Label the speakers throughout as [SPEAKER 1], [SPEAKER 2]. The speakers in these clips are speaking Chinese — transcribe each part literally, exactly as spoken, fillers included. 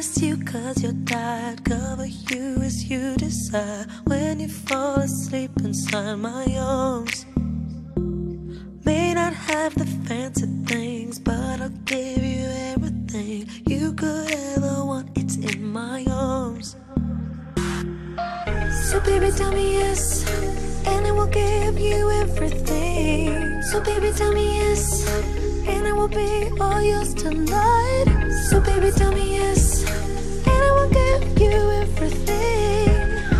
[SPEAKER 1] undress you cause you're tired, cover you as you desire. When you fall asleep inside my arms, may not have the fancy things, but I'll give you everything you could ever want. It's in my arms. So baby tell me yes, and I will give you everything. So baby tell me yes, and I will be all yours tonight. So baby tell me yes, and I will give you everything.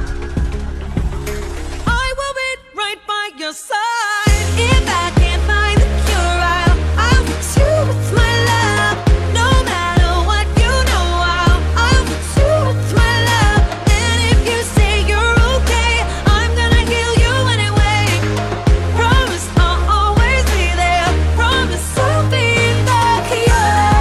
[SPEAKER 1] I will be right by your side. If I can't find the cure, I'll, I'll fix you with my love. No matter what, you know I'll, I'll fix you with my love. And if you say you're okay, I'm gonna heal you anyway. Promise I'll always be there. Promise I'll be the cure.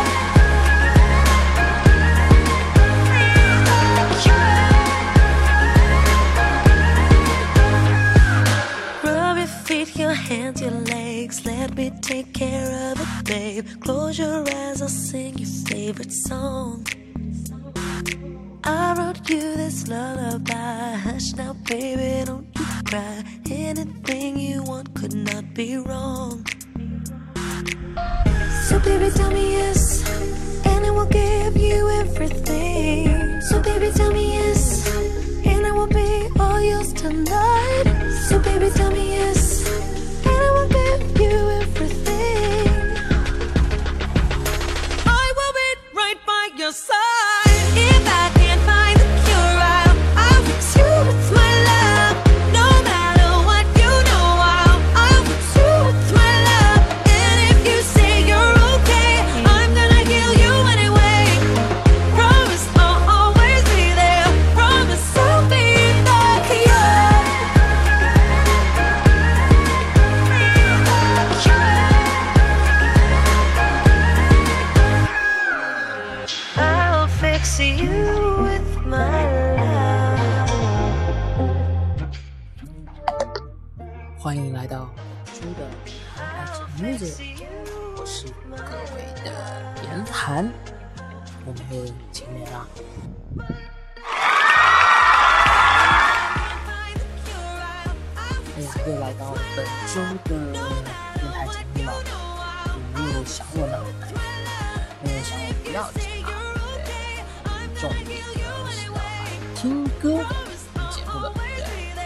[SPEAKER 1] Rub your feet, your hands, your legs. Let me take care of it, babe. Close your eyes, I'll sing your favorite song. I wrote you this lullaby. Hush now, baby, don't you cry. Anything you want could not be wrong. So baby tell me yes, and I will give you everything. So baby tell me yes, and I will be all yours tonight. So baby tell me yes, and I will give you everything. I will be right by your side. If I can't find the cure, I'll, I'll fix you with my love. No matter what, you know I'll, I'll fix you with my love. And if you say you're okay, I'm gonna heal you anyway. Promise I'll always be there. Promise I'll be the cure. I'll fix you with my love.
[SPEAKER 2] 欢迎来到猪的爱情 music， 我是各位的严寒，我们又见面啦。哎呀，又来到本周的电台节目了，有没有想我呢？没有想我不要紧啊，对，重点呢是要来听歌听节目的，对。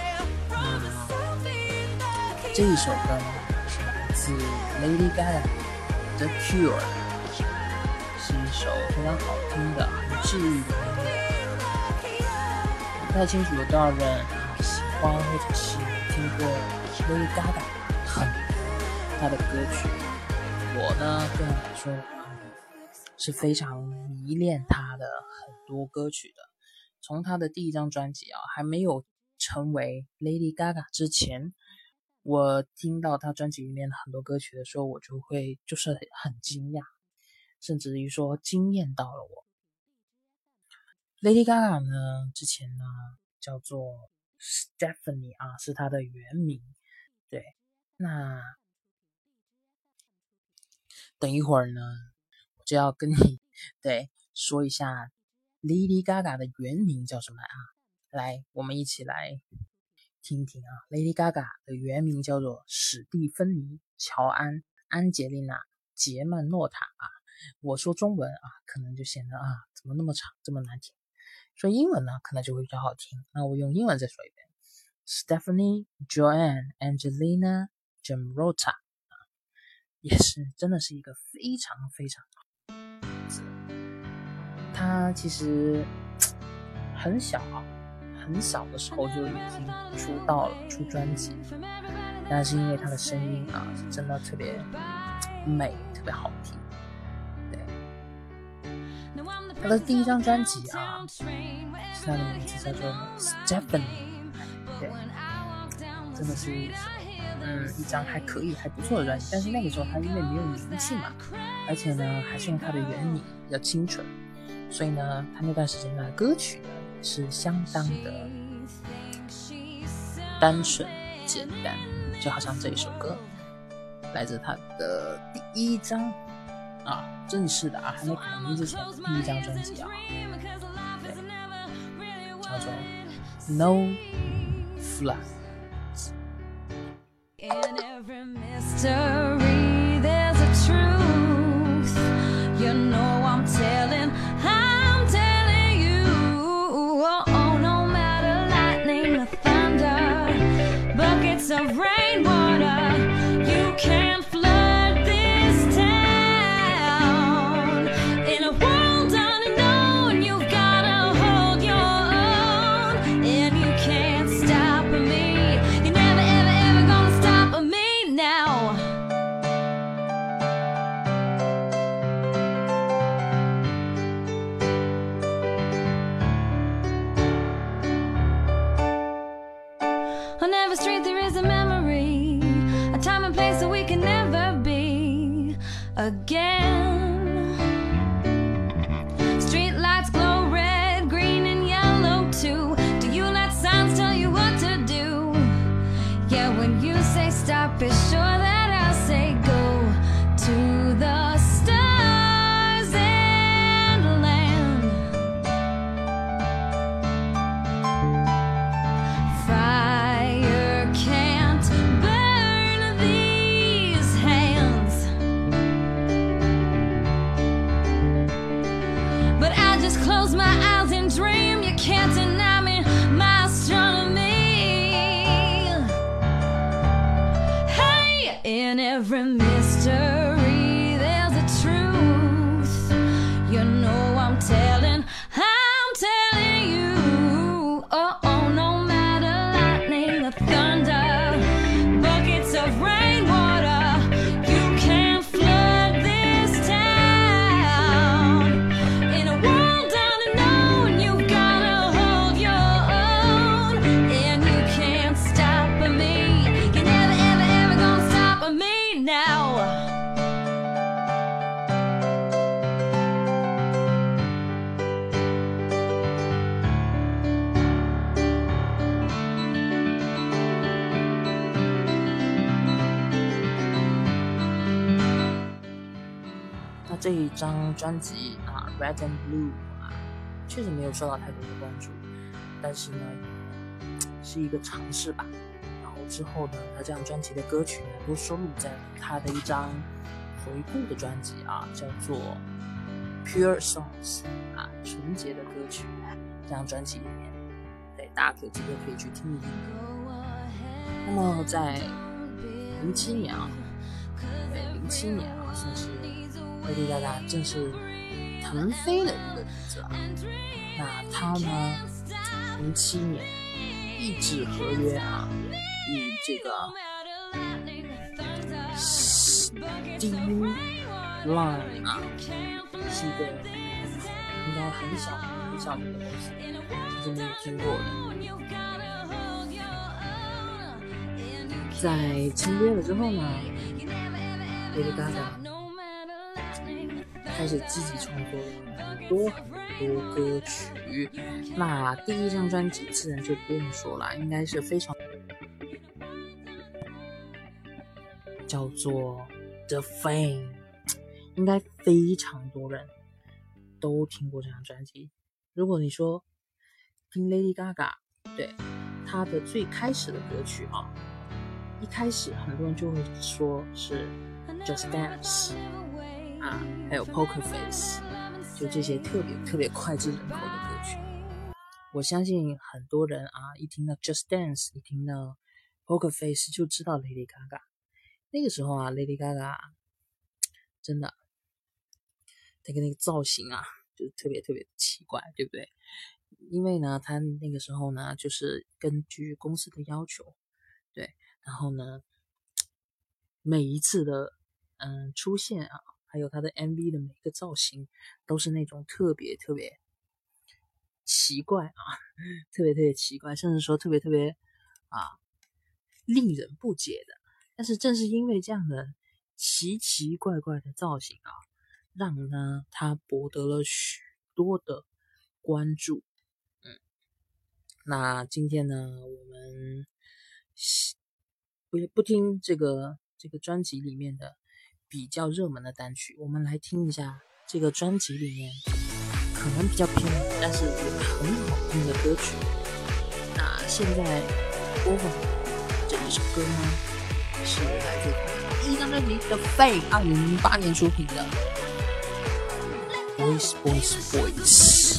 [SPEAKER 2] 那这一首歌呢是来自 Lady Gaga 的 Cure， 是一首非常好听的很治愈的音乐。不太清楚有多少人喜欢或者是听过 Lady Gaga 很她的歌曲。我呢个人来说是非常迷恋她的很多歌曲的。从她的第一张专辑啊，还没有成为 Lady Gaga 之前，我听到她专辑里面很多歌曲的时候，我就会就是很惊讶，甚至于说惊艳到了我。Lady Gaga 呢，之前呢叫做 Stephanie 啊，是她的原名。对，那等一会儿呢，我就要跟你对说一下 Lady Gaga 的原名叫什么啊？来，我们一起来听一听啊。Lady Gaga 的原名叫做史蒂芬妮·乔安·安杰丽娜·杰曼诺塔啊。我说中文啊，可能就显得啊，怎么那么长，这么难听。说英文呢，可能就会比较好听。那我用英文再说一遍 ：Stephanie Joanne Angelina Gemrota 啊，也是真的是一个非常非常好的名字。她其实很小啊。很小的时候就已经出道了，出专辑，但是因为她的声音啊，是真的特别美，特别好听。对，她的第一张专辑啊，是她的名字叫做 Stephanie， 对，真的是一首嗯一张还可以、还不错的专辑。但是那个时候她因为没有名气嘛，而且呢还是用她的原名比较清纯，所以呢，她那段时间的歌曲呢。是相当的单纯简单，就好像这一首歌来自他的第一张啊，正式的啊，还没改名之前第一张专辑啊，对，叫做 No Flood。In every mystery, there's a truth. You know I'm telling, I'm telling you. Oh, oh no matter lightning or thunder, buckets of rainwater, you can't flood this town. In a world unknown, you've gotta hold your own, and you can't stop me. You never, ever, ever gonna stop me now. On every street there is a memory, a time and place that we can never be again. Street lights glow red, green and yellow too. Do you let signs tell you what to do? Yeah, when you say stop, be sure that I'll say go to the stars and land. Fire can't burn these hands, but I just close my eyes and dream. You can't deny me my astronomy. Hey, in every mystery there's a truth. You know I'm telling, I'm telling you. Oh, oh no matter lightning or thunder, buckets of rainwater, you can't flood this town. In a world unknown, you've gotta hold your own, and you can't stop me. You're never, ever, ever gonna stop me now.那这一张专辑啊 ，Red and Blue 啊，确实没有受到太多的关注，但是呢，是一个尝试吧。然后之后呢，他这张专辑的歌曲呢，都收录在他的一张回顾的专辑啊，叫做 Pure Songs 啊，纯洁的歌曲。这张专辑里面，对，大家有机会可以去听一听。那么在零七年啊，对，零七年啊，算是Lady Gaga正式腾飞的一个日子啊。那他呢，零七年一纸合约啊，与这个 Steve Line 啊，是一个应该很小很小的一个公司，甚至没有听过的。在签约了之后呢 ，Lady Gaga 开始积极创作很多很多歌曲。那第一张专辑自然就不用说了，应该是非常叫做 The Fame， 应该非常多人都听过这张专辑。如果你说听 Lady Gaga， 对她的最开始的歌曲啊，一开始很多人就会说是 Just Dance 啊，还有 Poker Face， 就这些特别特别脍炙人口的歌曲。我相信很多人啊，一听到 Just Dance， 一听到 Poker Face 就知道 Lady Gaga。那个时候啊 ，Lady Gaga 真的那个那个造型啊，就是特别特别奇怪，对不对？因为呢，她那个时候呢，就是根据公司的要求，对，然后呢，每一次的嗯出现啊，还有她的 M V 的每个造型，都是那种特别特别奇怪啊，特别特别奇怪，甚至说特别特别啊令人不解的。但是正是因为这样的奇奇怪怪的造型啊，让呢她博得了许多的关注。嗯，那今天呢，我们不不听这个这个专辑里面的比较热门的单曲，我们来听一下这个专辑里面可能比较偏门，但是也很好听的歌曲。那现在播放这一首歌呢，是来自第一张专辑的 Fame 二零零八年出品的 Boys Boys Boys。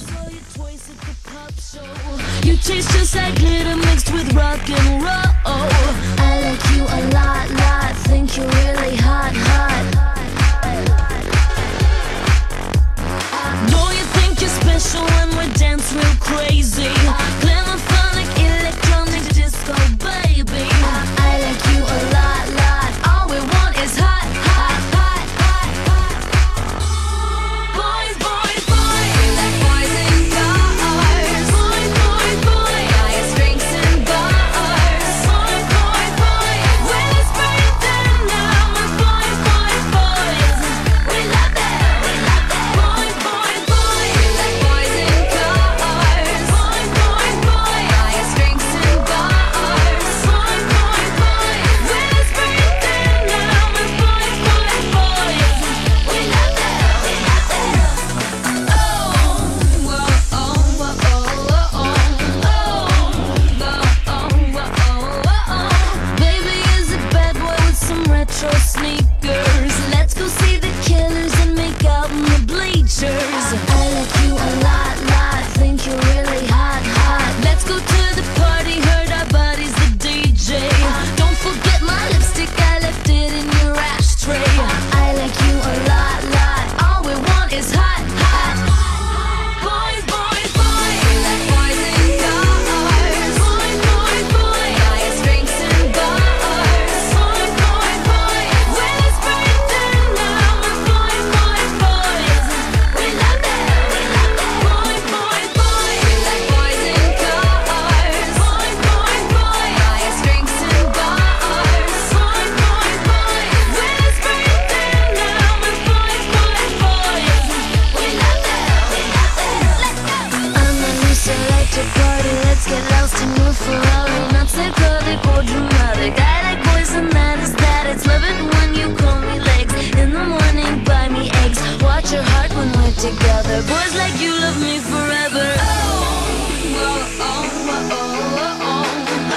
[SPEAKER 1] You taste just like glitter mixed with rock and roll. I like you a lot, lot. Think you're really hot, hot. Don't you think you're special when we dance real crazy? Glamour, phonic, electronic disco, baby. I like you a lot, lot. All we want is hot, hot, hot, hot, hot. Boys, boys, boys. We like boys and girls. Boys, boys, boys. Highest drinks and bars. Boys, boys, boys. We're whispering them now. We're boys, boys, boys. We love them, we love them. Boys, boys, boys. We like boys and girls. Boys, boys, boys. Highest drinks and bars. Boys, boys, boys. We're whispering them now. We're boys, boys, boys. We love them, we love them. Oh, whoa, oh, whoa, oh, oh, oh, oh, oh, oh. Baby is a bad boy with some retro sneakers. Let's go see the Killers and make out in the bleachers. I like you a lot, lot. Think you're really hot, hot. Let's go to the party, heard our buddy's the D J. Don't forget my lipstick, I left it in your ashtray. I like you a lot, lot. All we want is hot, hot. Boys, boys, boys. We like boys and girls. Boys, boys, boys. Highest drinks and bars. Boys, boys, boys. We're whispering them now. We're boys, boys, boys. We love them, we love them. Boys, boys, boys. We like boys and girls. Boys, boys, boys. Highest drinks and bars. Boys, boys, boys. We're whispering them now. We're boys, boys, boys. We love them, we love them. Let's go. I'm a new selected party. Let's get lost and move Ferrari. Not so curly or dramatic. I like boys and that is that. It's love it when you call me legs. In the morning, buy me eggs. Watch your heart when we're together. Boys like you love me forever. Oh, oh, oh, oh, oh, oh, oh.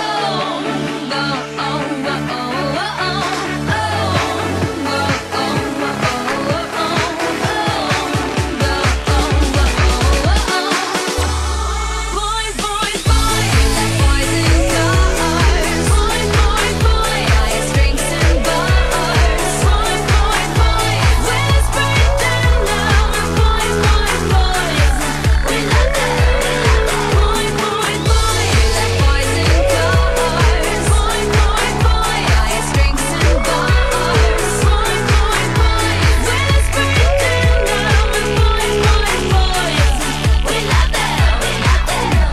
[SPEAKER 1] Boys, boys, boys. We like boys and girls. Boys, boys, boys. Highest drinks and bars. Boys, boys, boys. We're whispering them now. We're boys, boys, boys. We love them, we love them. Boys, boys, boys. We like boys and girls. Boys, boys, boys. Highest drinks and bars. Boys, boys, boys. We're whispering them now. We're boys, boys, boys. We love them, we love them.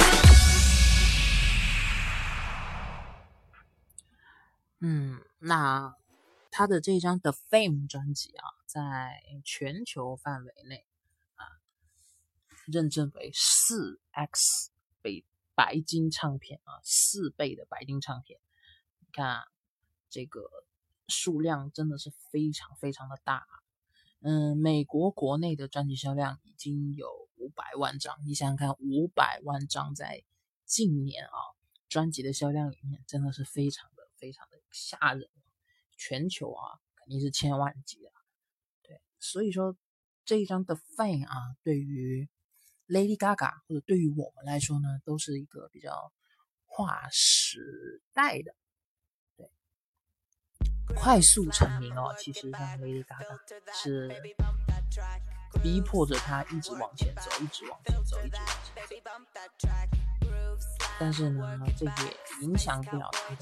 [SPEAKER 2] 嗯，那他的这张 The Fame 专辑啊，在全球范围内啊，认证为四 X 倍白金唱片啊，四倍的白金唱片。你看啊，这个数量真的是非常非常的大啊。嗯，美国国内的专辑销量已经有五百万张，你想想看，五百万张在近年啊，专辑的销量里面真的是非常的非常的吓人。全球啊，肯定是千万级的。对，所以说这一张的 Fame 啊，对于 Lady Gaga 或者对于我们来说呢，都是一个比较划时代的。对，快速成名哦，其实让 Lady Gaga 是逼迫着她一直往前走，一直往前走，一直往前走。但是呢，这也影响不了她的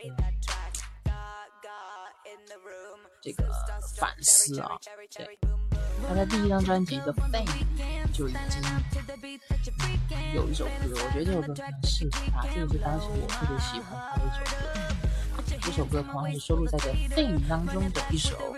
[SPEAKER 2] 这个反思啊。对，他在第一张专辑的 Fame 就已经有一首歌，我觉得这首歌非常适合他，这个是当时我特别喜欢他的一首歌。这首歌同样是收录在这 Fame 当中的一首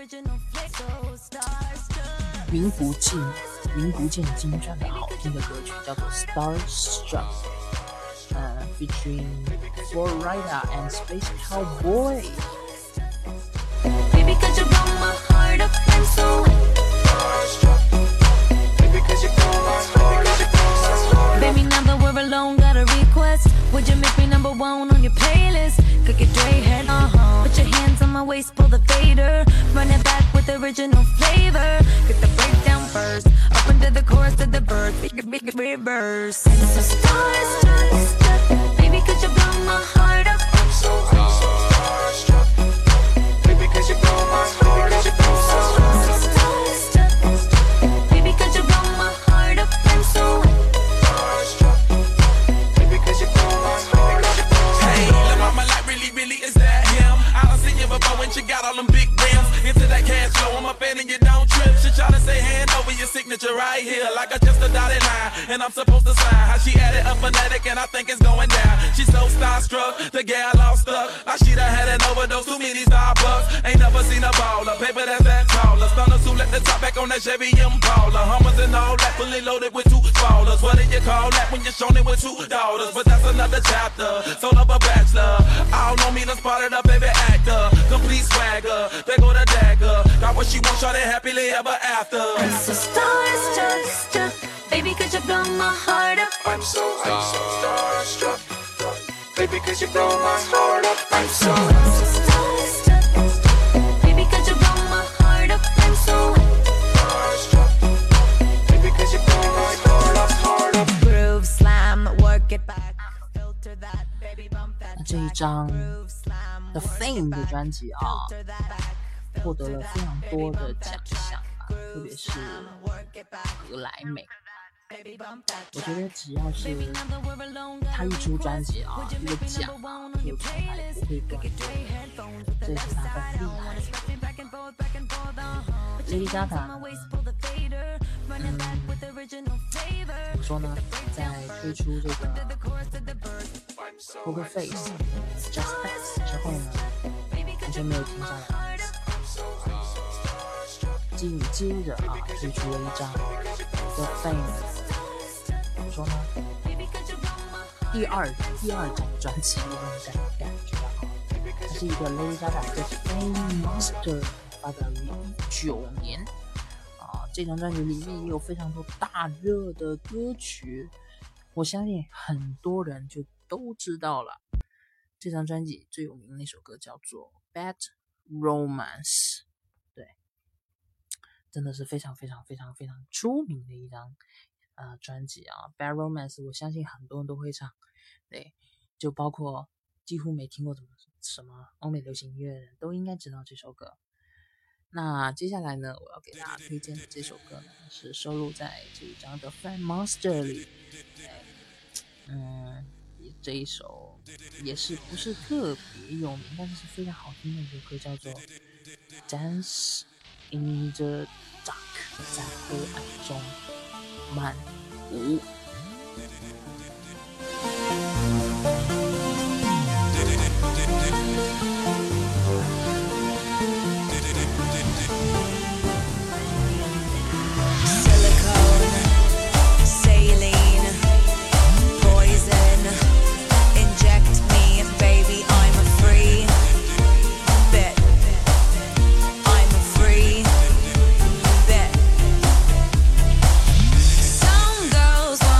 [SPEAKER 2] 名不见名不见经传的好听的歌曲，叫做 Starstruck， 呃 featuring Flo Rida and Space Cowboy。
[SPEAKER 1] Baby, could you blow my heart up? I'm so starstruck. Baby, could you blow my heart up? Baby, now that we're alone, got a request. Would you make me number one on your playlist? Cook it, Dre head, uh-huh. Put your hands on my waist, pull the fader. Run it back with original flavor. Get the breakdown first. Up into the chorus to the bird. Big, big, big reverse. I'm so starstruck. Baby, could you blow my heart up? I'm so starstruck. Baby, could you blow my heart up? I'm so starstruck. Baby, could you blow my heart up? I'm so starstruck. Baby, could you blow my heart up?
[SPEAKER 3] Hey, la mama, like really, really, is that him? I done seen you before when she got all them big rims. Into that cash flow, I'm a fan and you don't trip. She tryna say hand over your signature right here, like I just a dotted line, and I'm supposed to sign. How she added a phonetic, and I think it's going down. She's so starstruck, the gal all stuck. Like she done had an overdose, too many Starbucks. Ain't never seen a baller, paper that's that taller. Stunners who let the top back on that Chevy Impala. Hummers and all that, fully loaded with two spoilers. What do you call that when you're shown it with two daughters? But that's another chapter, soul of a bachelor. I don't know me, done spotted a baby actor. Complete swagger, they go the dagger. Got what she wants, shawty happily ever after.
[SPEAKER 1] I'm so starstruck. Baby, could you blow my heart up? I'm so, I'm so starstruck. Baby, could you blow my heart up? I'm so, I'm so starstruck. Baby, could you blow my heart up? I'm so starstruck. Baby, could you blow my heart up, heart up? Groove slam, work it back. Filter that, baby, bump that.
[SPEAKER 2] 那这一张 The Fame 的专辑啊，获得了非常多的奖项啊，特别是格莱美。我觉得只要是他一出专辑啊，这个奖啊就从来不会断过，这也是他很厉害的。Lady Gaga， 嗯，怎么说呢？在推出这个 Poker Face、Just Dance 之后呢，完全没有停下来，紧接着啊推出了一张 The Fame。怎么说呢？第二第二张专辑那种感感觉啊，它是一个 Lady Gaga 的 Fame Monster， 发表于一九年啊。这张专辑里面也有非常多大热的歌曲，我相信很多人就都知道了。这张专辑最有名的那首歌叫做 Bad Romance， 对，真的是非常非常非常非常出名的一张。呃，专辑啊 ，Bad Romance， 我相信很多人都会唱，对，就包括几乎没听过什么什么欧美流行音乐的人都应该知道这首歌。那接下来呢，我要给大家推荐的这首歌呢，是收录在这一张的《Fame Monster》里，嗯，这一首也是不是特别有名，但是是非常好听的一首歌，叫做《Dance in the Dark》，在黑暗中慢舞。
[SPEAKER 1] Some girls want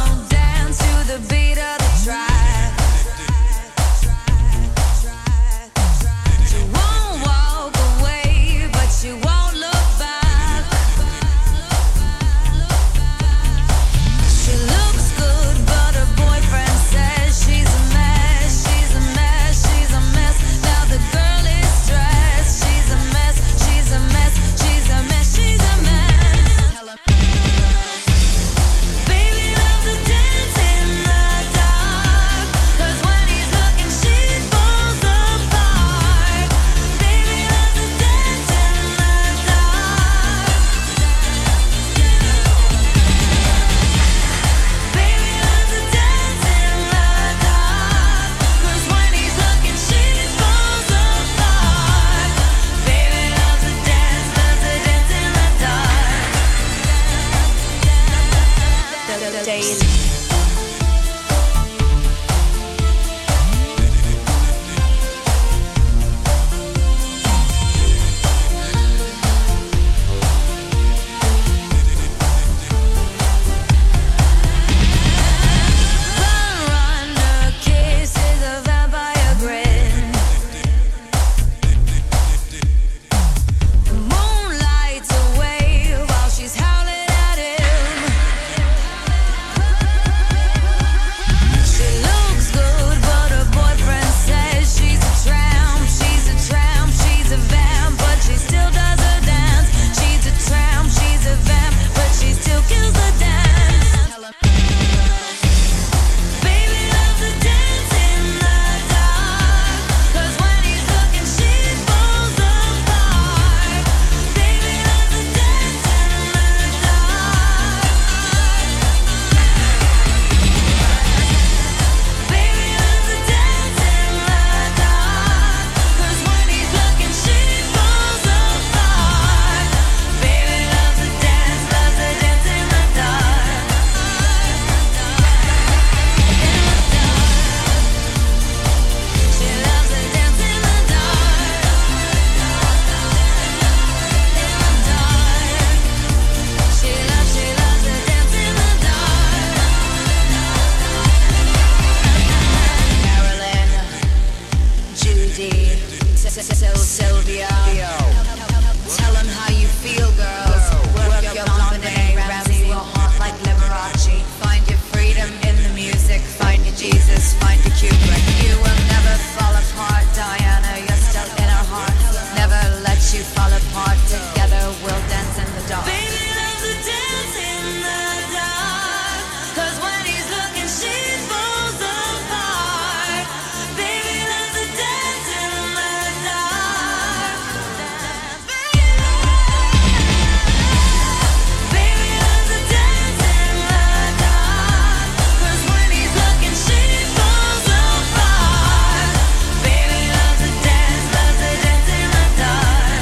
[SPEAKER 1] D. Tell Sylvia. Tell them how you feel, girls. Work your blonde and Ramsey your heart like Liberace. Find your freedom in the music. Find your Jesus. Find your Kubrick. You will never fall apart, Diana. You're still in our hearts. Never let you fall apart. Together we'll dance in the dark. Baby loves to dance in the dark. 'Cause when he's looking, she falls apart. Baby loves to dance in the dark. Baby loves to dance in the dark. 'Cause when he's looking, she falls apart. Baby loves to dance, loves to dance in the dark.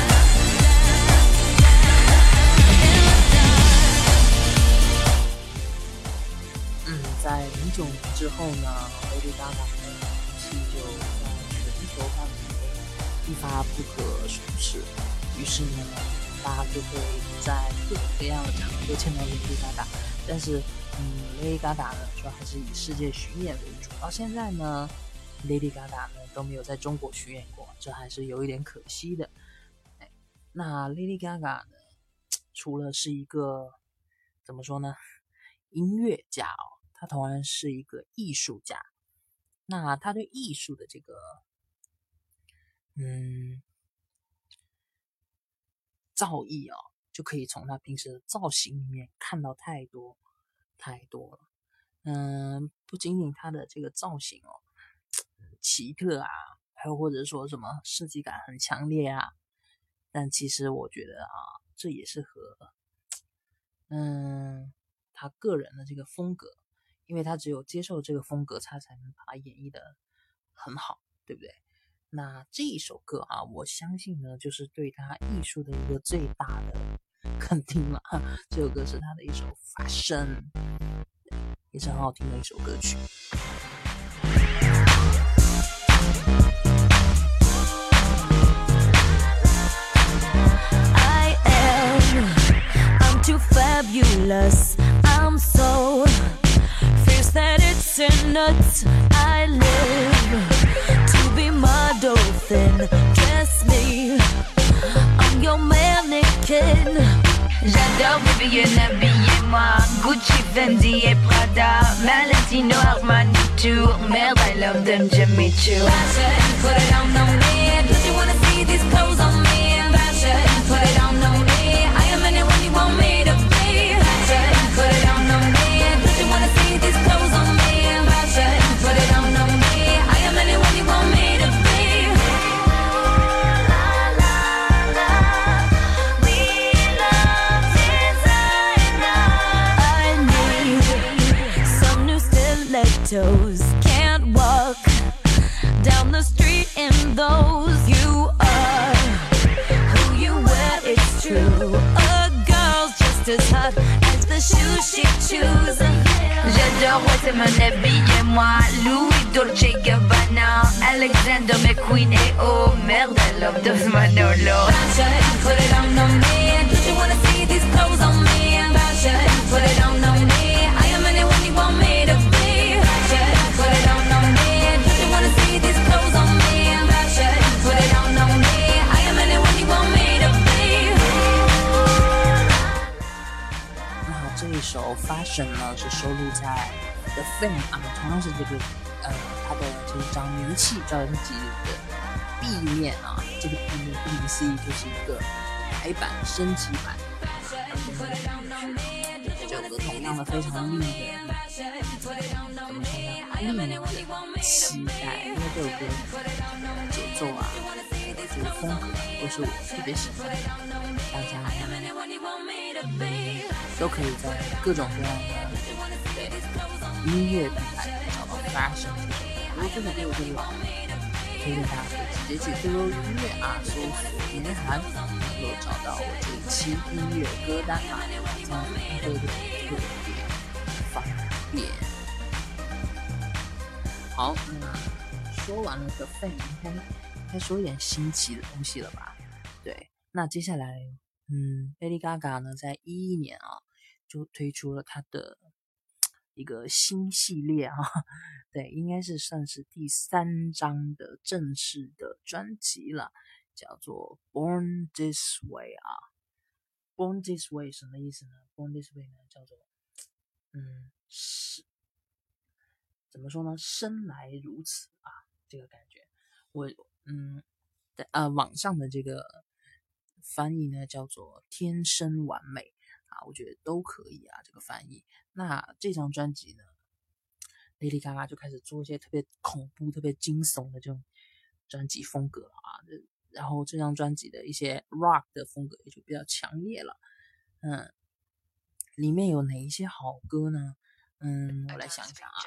[SPEAKER 1] In the dark.
[SPEAKER 2] 嗯，在零九年之后呢 ，Lady Gaga 的名气就在全球范围内一发不可收拾。于是呢，大家就会在各种各样的场合都见到 Lady Gaga。但是，嗯，Lady Gaga 呢，主要还是以世界巡演为主。到现在呢 ，Lady Gaga 呢都没有在中国巡演过，这还是有一点可惜的。哎，那 Lady Gaga 呢，除了是一个怎么说呢，音乐家哦。他同样是一个艺术家，那他对艺术的这个，嗯，造诣哦，就可以从他平时的造型里面看到太多太多了。嗯，不仅仅他的这个造型哦，奇特啊，还有或者说什么设计感很强烈啊，但其实我觉得啊，这也是和，嗯，他个人的这个风格。因为他只有接受这个风格，他才能把它演绎的很好，对不对？那这一首歌啊，我相信呢，就是对他艺术的一个最大的肯定了。这首歌是他的一首《Fashion》，也是很好听的一首歌曲。
[SPEAKER 1] I am, I'm too fabulous. I'm so fierce that it's in nuts. I live to be my dolphin. Dress me, I'm your mannequin.
[SPEAKER 4] J'adore Vivienne, habillez-moi. Gucci, Fendi et Prada, Valentino, Armani, Tour. Merde, I love them, Jimmy Choo.
[SPEAKER 1] Fashion, put it on, on me. Don't you wanna see these clothes on me? Fashion, put it on, on me. I am anyone you want me to be. Fashion, put it on, on me. Don't you wanna see these clothes on me? Fashion, put it on, on me. I am anyone you want me to be. La la la, we love designer. I need some new stilettos. Can't walk down the street in those. You are who you wear, it's true. A girl's just as hot as the shoes she chooses.
[SPEAKER 4] J'adore, ouais, c'est mon habillez-moi. Louis Dolce Gabbana, Alexander McQueen et oh merde, I love those Manolo.
[SPEAKER 1] Fashion, put it on, on me. Don't you wanna see these clothes on me? Fashion, put it on, on me. I am anyone you want me to be. Fashion, put it on, on me. Don't you wanna see these clothes on me? Fashion, put it on, on me. I am anyone you want me to be.
[SPEAKER 2] 那这一首《Fashion》呢，是收录在 The Fame 啊，同样是这个呃他的这一张名气专辑的 B 面啊，这个 B 面顾名思义就是一个改版升级版。这首歌同样的非常令人怎么说呢？令人期待，因为这首歌节奏啊，这个风格都是我特别喜欢的，大家嗯都可以在各种各样的对音乐平台找到 Fashion 这首歌。如果这首歌有点老，推荐大家可以直接去 Q Q 音乐啊搜索年韩，能够找到我这一期音乐歌单啊，这样会有点特别方便。好，那说完了 The Fame， 应该应该说一点新奇的东西了吧？对，那接下来，嗯 ，Lady Gaga 呢，在一一年啊，就推出了她的一个新系列啊，对，应该是算是第三张的正式的专辑了，叫做 Born This Way 啊。Born This Way 什么意思呢？ Born This Way 呢，叫做嗯是怎么说呢？生来如此啊，这个感觉。我嗯呃网上的这个翻译呢叫做天生完美啊，我觉得都可以啊，这个翻译。那这张专辑呢 Lady Gaga 就开始做一些特别恐怖、特别惊悚的这种专辑风格啊，然后这张专辑的一些 rock 的风格也就比较强烈了。嗯，里面有哪一些好歌呢？嗯，我来想一想啊，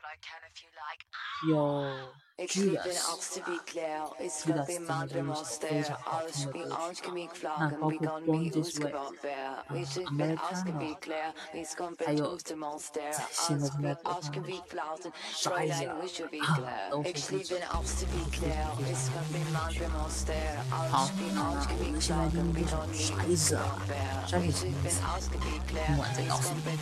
[SPEAKER 2] 有 Judas，Judas 真的是一首非常好听的歌曲啊。那包括 Born This Way， 嗯 Americana， 还有在现在正在播放的 Shine 啊，都非常非常好。好，那我们现在听这首 Shine 啊 ，Shine 什么意思？听完再告诉你。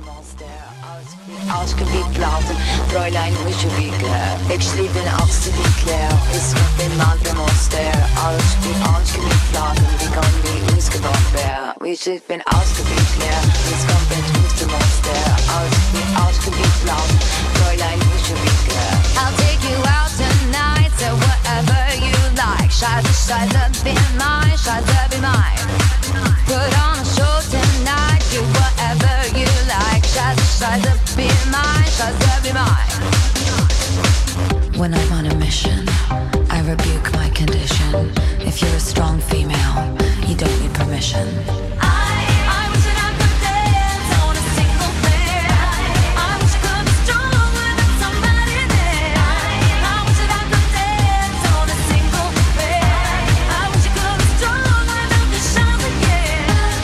[SPEAKER 5] Ausgeblasen, Fräulein, wish you be klar. Ich liebe den Ausgebiet ist mit dem Mantel Monster. Alles wie ausgeblasen, wie kann wie ausgebaut werden. Ich bin ausgebiet leer, es kommt mit dem Monster. Alles wie ausgebiet blasen, Fräulein, wish you be klar.
[SPEAKER 4] I'll take you out tonight, so whatever you like. Scheiße, Scheiße, be mine, Scheiße, be mine. Put on a show tonight, do whatever you like. Scheiße, Scheiße, be mine, Scheiße, be mine.
[SPEAKER 5] When I'm on a mission, I rebuke my condition. If you're a strong female, you don't need permission.
[SPEAKER 1] I, I wish that I could dance on a single bed. I wish I could be strong without somebody there. I wish that I could dance on a single bed. I wish I could be strong without the shots again.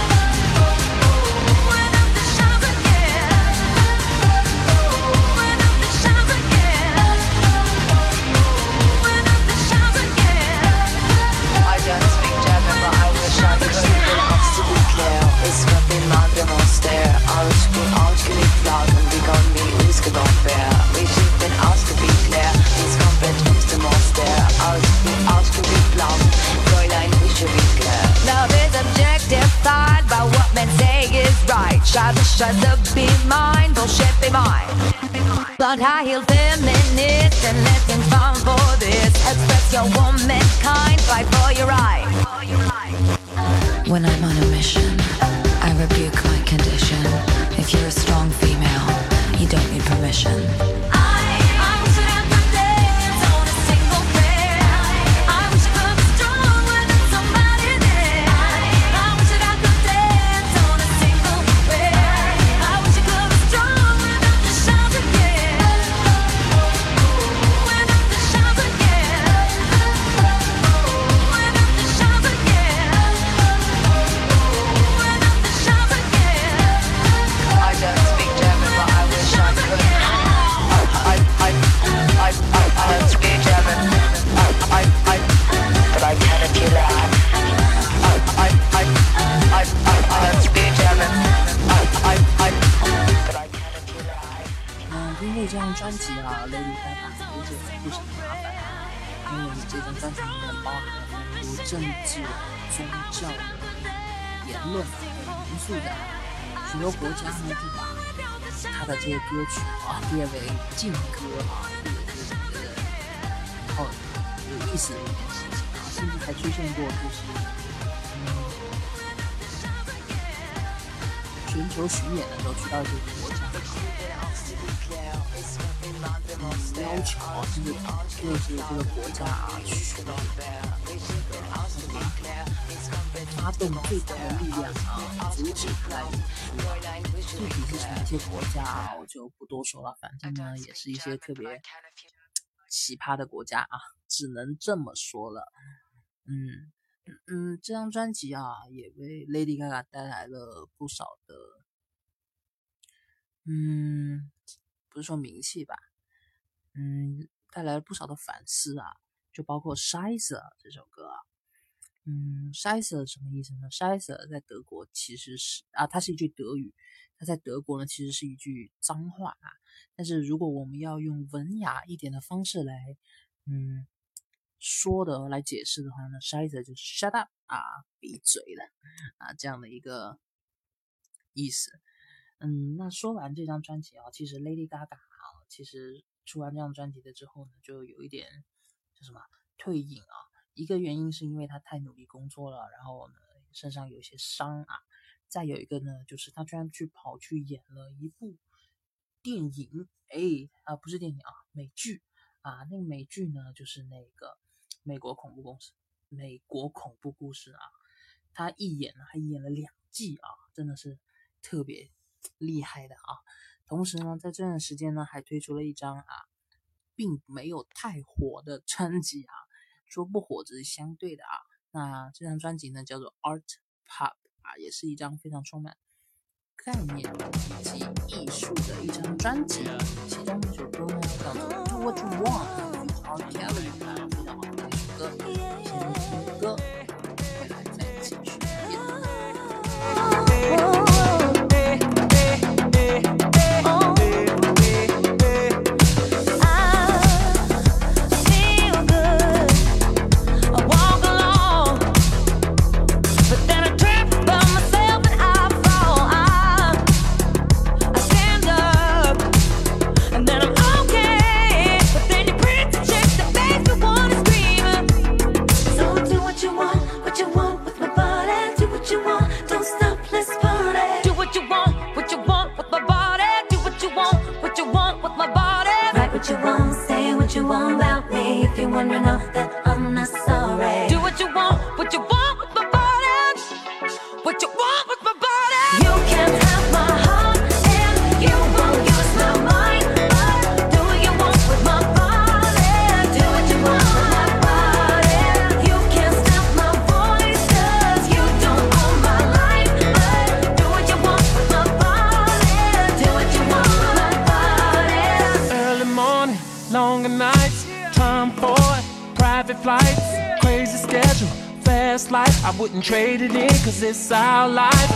[SPEAKER 1] Without the shots again. Without the shots again. Without the shots again.
[SPEAKER 5] I don't speak German, but I wish I could. Bin absolut leer, es kommt wie Mantel Monster. Alles wie ausgelegt blasen, wie kann wie ausgebaut werden. Ich bin ausgebiet leer, es kommt mit uns dem Monster. Alles wie ausgelegt blasen, Fräulein, wish you be klar.
[SPEAKER 4] Love is objectified by what men say is right. Scheiße, Scheiße, be mine, bullshit, be mine. Blonde high-heeled feminist and listen fun for this. Express your womankind, fight for your right.
[SPEAKER 5] When I'm on a mission, I rebuke my condition. If you're a strong female, you don't need permission.
[SPEAKER 1] I, I wish that I could dance on a single bed. I wish I could be strong without somebody there. I wish that I could dance on a single bed. I wish I could be strong without the shots again. Without the shots again. Without the shots again. Without the shots again.
[SPEAKER 5] I don't speak German, but I wish I could. I, I, I, I, I don't speak German. I, I, I, but I can if you like. I, I, I, I, I, I don't speak German. I, I, I, but I can if you like.
[SPEAKER 2] 嗯，因为这张专辑啊 ，Lady Gaga 有点不少麻烦，因为这张专辑里面包含了很多政治、宗教的言论和元素的，许多国家呢就把他的这些歌曲啊列为禁歌啊，这个是觉得好有意思的一件事情啊，甚至还出现过就是嗯全球巡演的时候去到一些国家。要求啊，就是就是这个国家啊，去发动最大的力量啊，阻止来演出。具体是哪些国家啊，我就不多说了。反正呢，也是一些特别奇葩的国家啊，只能这么说了。嗯嗯，这张专辑啊，也为 Lady Gaga 带来了不少的，嗯，不是说名气吧。嗯，带来了不少的反思啊，就包括《筛子》这首歌啊， 嗯 Scheiße 什么意思呢？ Scheiße 在德国其实是啊，它是一句德语，它在德国呢其实是一句脏话啊。但是如果我们要用文雅一点的方式来嗯说的来解释的话呢 Scheiße 就是 shut up 啊，闭嘴了啊，这样的一个意思。嗯，那说完这张专辑啊，其实 Lady Gaga 啊，其实出完这张专辑的之后呢，就有一点叫什么退隐啊。一个原因是因为她太努力工作了，然后呢身上有一些伤啊。再有一个呢，就是她居然去跑去演了一部电影，哎啊不是电影啊，美剧啊。那个美剧呢，就是那个美国恐怖故事，美国恐怖故事啊。她一演呢还演了两季啊，真的是特别厉害的啊。同时呢，在这段时间呢，还推出了一张啊，并没有太火的专辑啊。说不火只是相对的啊。那这张专辑呢，叫做 Art Pop 啊，也是一张非常充满概念以及艺术的一张专辑。其中一首歌呢，叫做 Do What You Want R Kelly 啊，非常好听的一首歌。先听歌，回来再继续演。
[SPEAKER 3] Longer nights, time for private flights, crazy schedule, fast life. I wouldn't trade it in, cause it's our life.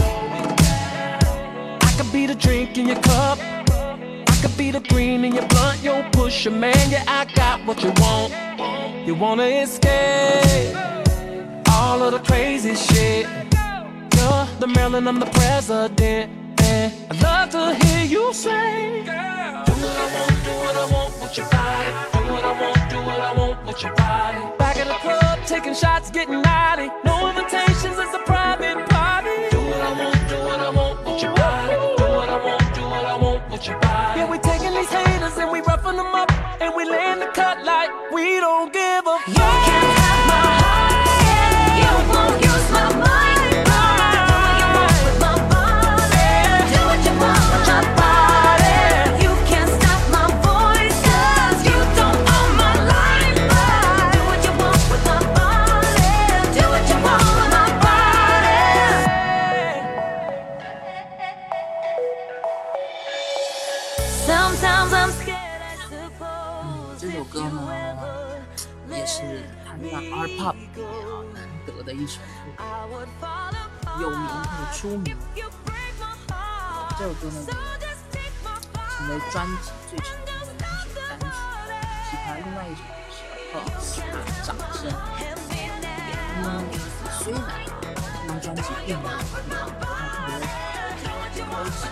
[SPEAKER 3] I could be the drink in your cup, I could be the green in your blunt. Yo, pusher, man, yeah, I got what you want. You wanna escape all of the crazy shit. You're the Maryland, I'm the president, and I'd love to hear you say, do what I want, do what I want with your body. Do what I want, do what I want with your body. Back at the club, taking shots, getting naughty. No invitations, it's a private party. Do what I want, do what I want with your body. Do what I want, do what I want with your body. Yeah, we taking these haters and we roughing them up, and we laying the cut like we don't give a fuck. You can't have my heart, yeah. You won't use my mind. Do what you want with my body. You can't stop my voice, cause you don't own my life. Do what you want with my body. Do what you want with my body. Sometimes I'm scared, I suppose.
[SPEAKER 2] 这首歌呢，也是台湾 Art Pop 里面啊难得的一首歌，有名或出名。这首歌呢，成为专辑最成功的两首单曲，其他另外一首是《Applause》掌声。那虽然这张专辑并没有特别高级的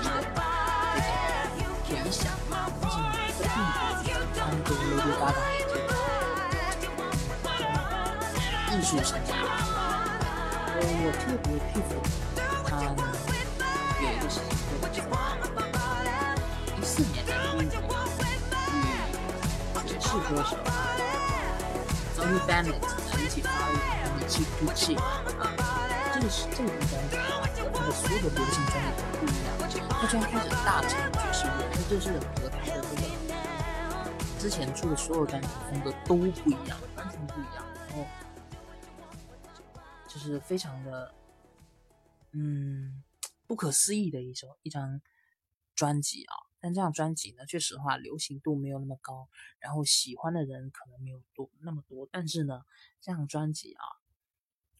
[SPEAKER 2] 这个回响，但是呢，这并不影响对 Lady Gaga 的艺术生涯。呃，我特别佩服他呢，有一个事情。一四年在英国与爵士歌手 Tony Bennett 呢一起发了一张《气哭泣》啊，这个是这个专辑啊，和他的所有的流行专辑都不一样，他居然开始大成爵士乐，这就是和他的这个之前出的所有专辑风格都不一样，完全不一样，然后就是非常的嗯不可思议的一首一张专辑啊。但这样专辑呢，确实话流行度没有那么高，然后喜欢的人可能没有多那么多。但是呢，这样专辑啊，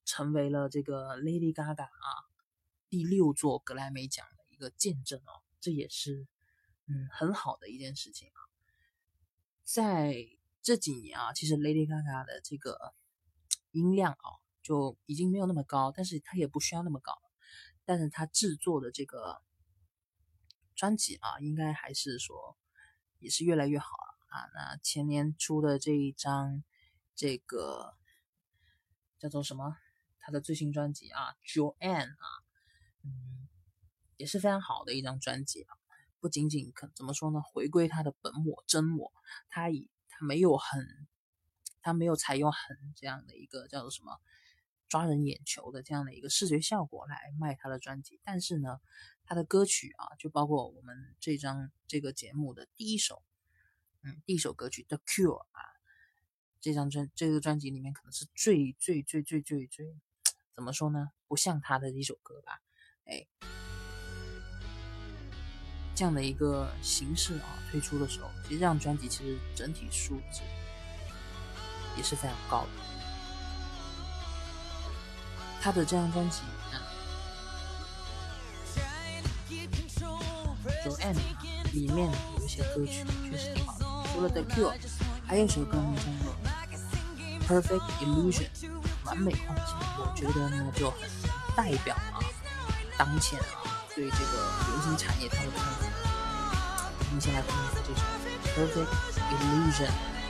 [SPEAKER 2] 成为了这个 Lady Gaga 啊第六座格莱美奖的一个见证哦，这也是嗯很好的一件事情啊。在这几年啊，其实 Lady Gaga 的这个音量啊就已经没有那么高，但是它也不需要那么高，但是它制作的这个专辑啊，应该还是说也是越来越好了啊。那前年出的这一张这个叫做什么？他的最新专辑啊 ，Joanne 啊，嗯，也是非常好的一张专辑啊。不仅仅可怎么说呢，回归他的本我真我，他以他没有很，他没有采用很这样的一个叫做什么抓人眼球的这样的一个视觉效果来卖他的专辑，但是呢，他的歌曲啊，就包括我们这张这个节目的第一首，嗯，第一首歌曲《The Cure》啊。这张专这个专辑里面可能是最最最最最最怎么说呢？不像他的一首歌吧，哎，这样的一个形式啊推出的时候，其实这张专辑其实整体素质也是非常高的。他的这张专辑啊 ，Joanne 里面有一些歌曲确实挺好的，除了 The Cure， 还有一首歌名叫做Perfect Illusion 完美幻境，我觉得呢就很代表啊当前啊对这个流行产业它的看法。我们先来听一下这首 Perfect Illusion。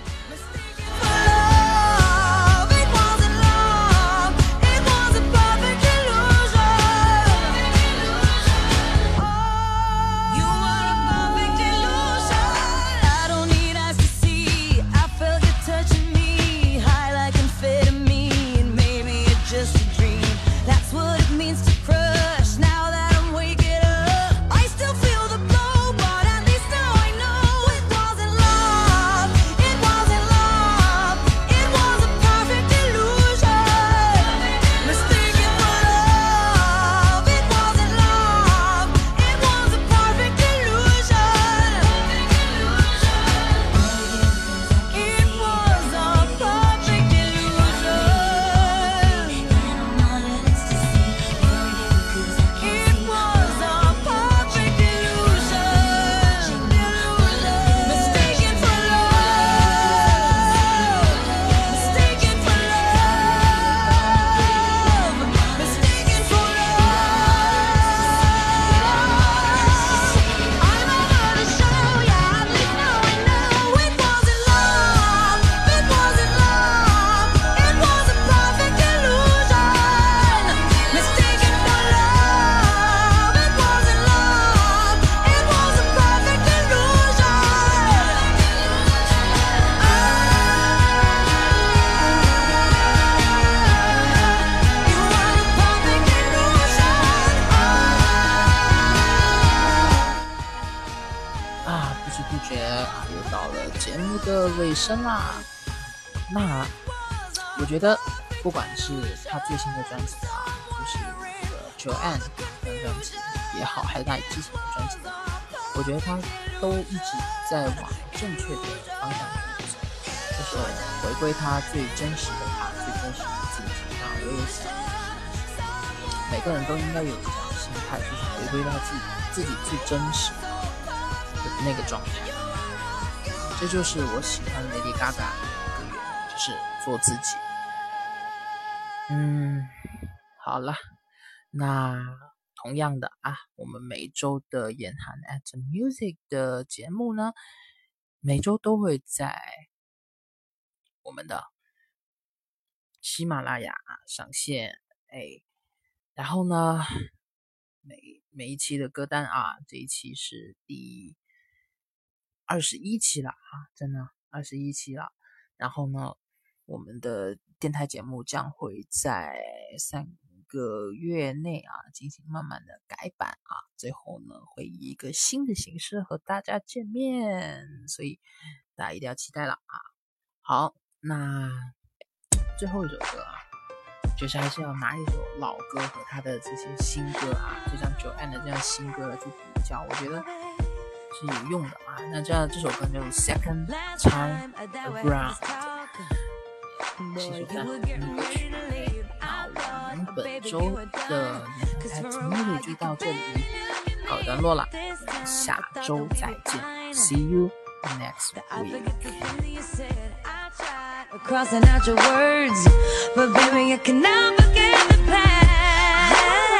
[SPEAKER 2] 尾声啦，那我觉得不管是他最新的专辑啊，就是这个 Joanne 的专辑也好，还是他之前的专辑，我觉得他都一直在往正确的方向去走，就是回归他最真实的他，最真实的自己。那我也想，每个人都应该有这样的心态，就是回归到自己自己最真实的那个状态。这就是我喜欢 Lady Gaga 的一个原因，就是做自己。嗯，好了，那同样的啊，我们每周的眼涵 at music 的节目呢，每周都会在我们的喜马拉雅上线，哎，然后呢，每每一期的歌单啊，这一期是第二十一期了啊，真的二十一期了。然后呢，我们的电台节目将会在三个月内啊进行慢慢的改版啊，最后呢会以一个新的形式和大家见面，所以大家一定要期待了啊。好，那最后一首歌啊，就是还是要拿一首老歌和他的这些新歌啊，就像 Joanne 的这样新歌来去比较，我觉得是有用的啊。那这样这首歌叫做 Second Time Around， 是一首非常好听的歌曲。那我们本周的两台听力就到这里告一段落了，下周再见 ，See you next week.
[SPEAKER 4] Crossing out your words, but baby, you can never forget the past.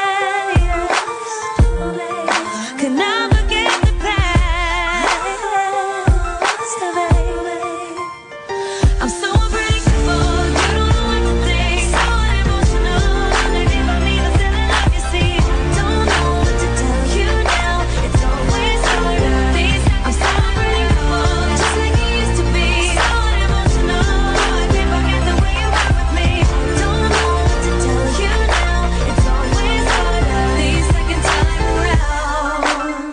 [SPEAKER 4] Can never forget the past, baby. I'm so unpredictable, you don't know what to think. So emotional, maybe by me the feeling of you see. Don't know what to tell you now. It's always harder. These I'm so unpredictable, just like you used to be. So emotional, I can't forget the way you were with me. Don't know what to tell you now. It's always harder. The second time around.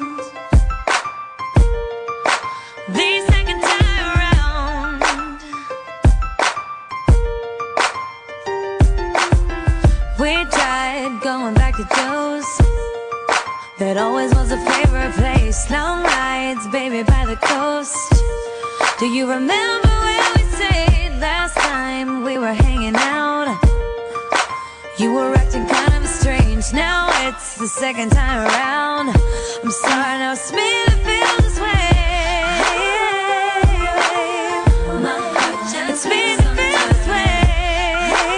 [SPEAKER 4] The second time around. We tried going back to Joe's. That always was a favorite place. Long rides, baby, by the coast. Do you remember where we stayed last time we were hanging out? You were acting kind of strange. Now it's the second time around. I'm sorry, now it's me that feels this way. It's me that feels this way.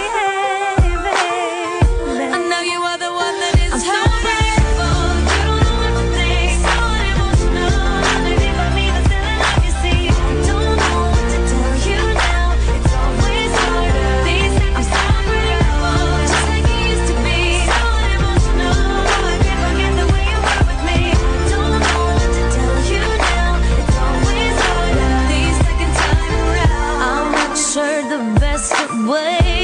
[SPEAKER 4] I know you are the one that is hurting. You don't know what to think. So emotional. Maybe by me the feeling of you see. Don't know what to tell you now. It's always harder. These I'm so unpredictable, just like you used to be. So emotional. I can't forget the way you were with me. Don't know what to tell you now. It's always harder. The second time around. I'm not sure the best way